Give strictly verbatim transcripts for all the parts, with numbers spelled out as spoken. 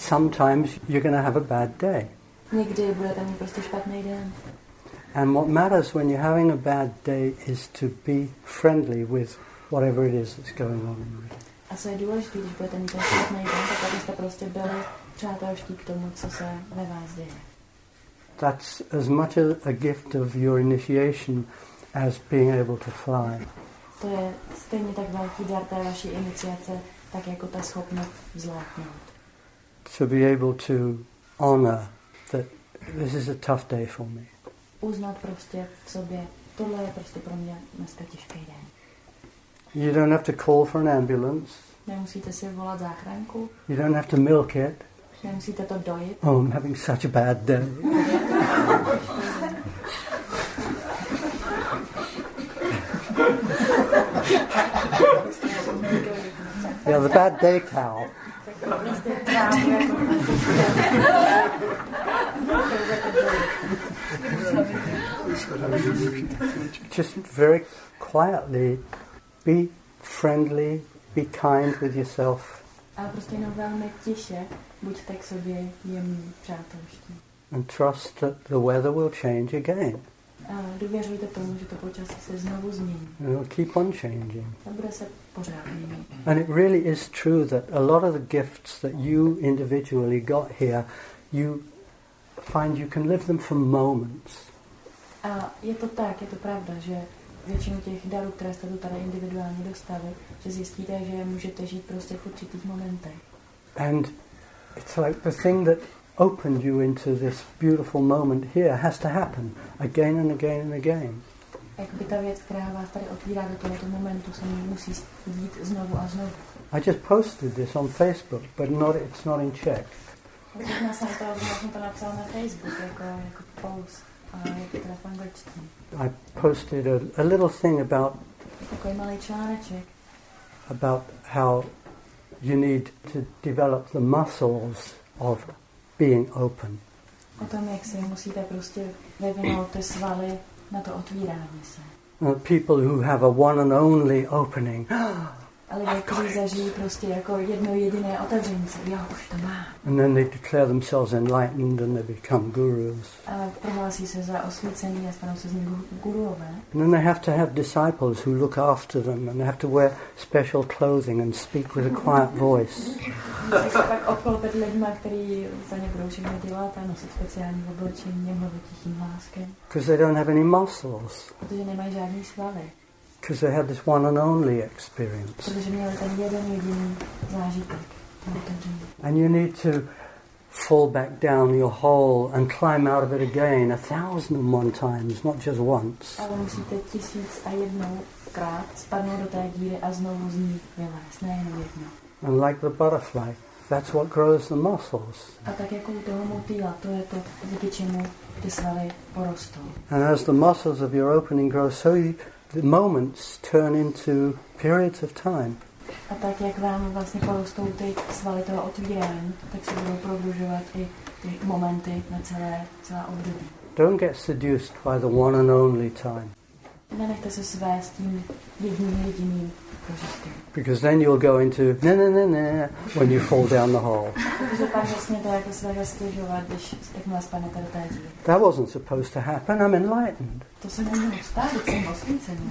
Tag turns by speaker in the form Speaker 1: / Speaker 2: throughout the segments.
Speaker 1: sometimes you're going to have a bad day.
Speaker 2: Někdy budete mít prostě špatný den.
Speaker 1: And what matters when you're having a bad day is to be friendly with whatever it is that's going on in you.
Speaker 2: A co je důležité, když budete mít ten špatný den, tak abyste prostě byli přátelští k tomu, co se ve vás děje.
Speaker 1: That's as much a, a gift of your initiation as being able to fly.
Speaker 2: To je stejně tak velký dar té vaší iniciace, tak jako ta schopnost vzlétnout.
Speaker 1: To be able to honor that this is a tough day for me.
Speaker 2: Uznat prostě v sobě, tohle je prostě pro mě dneska těžký den.
Speaker 1: You don't have to call for an ambulance.
Speaker 2: Nemusíte si volat záchranku.
Speaker 1: You don't have to milk it.
Speaker 2: Nemusíte to dojit.
Speaker 1: Oh, I'm having such a bad day. Yeah, the bad day cow. Just very quietly be friendly, be kind with yourself.
Speaker 2: Ale prostě jenom velmi tiše buďte k sobě jemní, přátelští.
Speaker 1: And trust that the weather will change again.
Speaker 2: A důvěřujte tomu, že to počasí se znovu změní.
Speaker 1: It will keep on changing.
Speaker 2: A bude se pořád měnit.
Speaker 1: And it really is true that a lot of the gifts that you individually got here, you find you can live them for moments.
Speaker 2: A je to tak, je to pravda, že většinu těch darů, které jste tu tady individuálně dostali, že zjistíte, že můžete žít prostě v určitých momentech.
Speaker 1: And it's like the thing that opened you into this beautiful moment here has to happen again and again and again.
Speaker 2: Jakoby ta věc, která vás tady otvírá do tohoto momentu, se musí dít znovu a znovu.
Speaker 1: I just posted this on Facebook, but not it's not in Czech.
Speaker 2: Já jsem to, já jsem to napsal na Facebook jako, jako post, a je to teda v angličtině.
Speaker 1: I posted a, a little thing about
Speaker 2: takový malý článeček
Speaker 1: about how you need to develop the muscles of being open.
Speaker 2: O tom, jak si musíte prostě vyvinout ty svaly na to otvírání se.
Speaker 1: Uh, people who have a one and only opening.
Speaker 2: A lidé, kteří zažijí prostě jako jedno jediné otevření se. Jo, už to má.
Speaker 1: And then they declare themselves enlightened and they become gurus.
Speaker 2: A prohlásí se za osvícený a stanou se z nich guruové.
Speaker 1: And then they have to have disciples who look after them and they have to wear special clothing and speak with a quiet voice.
Speaker 2: Musí se pak obklopit lidma, kteří za ně budou všechno dělat a nosit speciální oblečení a mluvit tichým hláskem.
Speaker 1: Because they don't have any muscles.
Speaker 2: Protože nemají žádný svaly.
Speaker 1: Because they had this one and only experience.
Speaker 2: Protože měli ten jeden jediný zážitek.
Speaker 1: And you need to fall back down your hole and climb out of it again a thousand and one times, not just once.
Speaker 2: Ale musíte tisíc a jednou krát spadnout do té díry a znovu z ní vylézt, nejenom jednou.
Speaker 1: And like the butterfly, that's what grows the muscles.
Speaker 2: A tak jako u toho motýla, to je to, díky čemu ty svaly porostou.
Speaker 1: And as the muscles of your opening grow, so you, the moments turn into periods of time.
Speaker 2: A tak, jak vám vlastně porostou ty svaly toho otvírání, tak se budou prodlužovat i ty momenty na celé, celé období.
Speaker 1: Don't get seduced by the one and only time.
Speaker 2: Nenechte se svést tím jedním jediným prožitkem.
Speaker 1: Because then you'll go into ne ne ne ne when you fall down the hole.
Speaker 2: Protože pak vlastně to jako se stěžovat, když jakmile spadnete do té díry.
Speaker 1: That wasn't supposed to happen. I'm enlightened.
Speaker 2: To se nemělo stát, když jsem osvícený.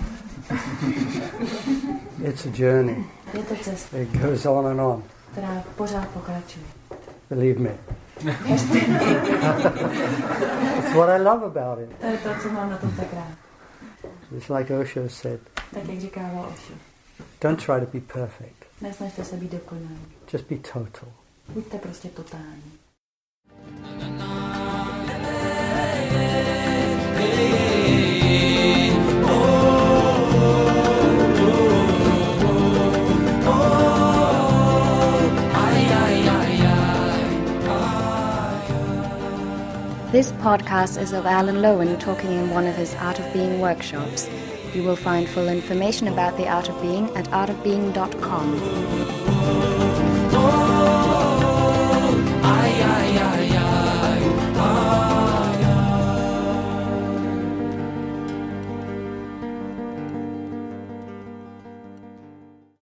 Speaker 1: It's a journey.
Speaker 2: Je to cesta.
Speaker 1: It goes on and on.
Speaker 2: Která pořád pokračuje.
Speaker 1: Believe me. It's what I love about it.
Speaker 2: To je to, co mám na tom tak rád.
Speaker 1: It's like Osho said.
Speaker 2: Tak jak říkával Osho.
Speaker 1: Don't try to be perfect.
Speaker 2: Nesnažte se být dokonalý.
Speaker 1: Just be total.
Speaker 2: Buďte prostě totální.
Speaker 3: This podcast is of Alan Lowen talking in one of his Art of Being workshops. You will find full information about the Art of Being at art of being dot com.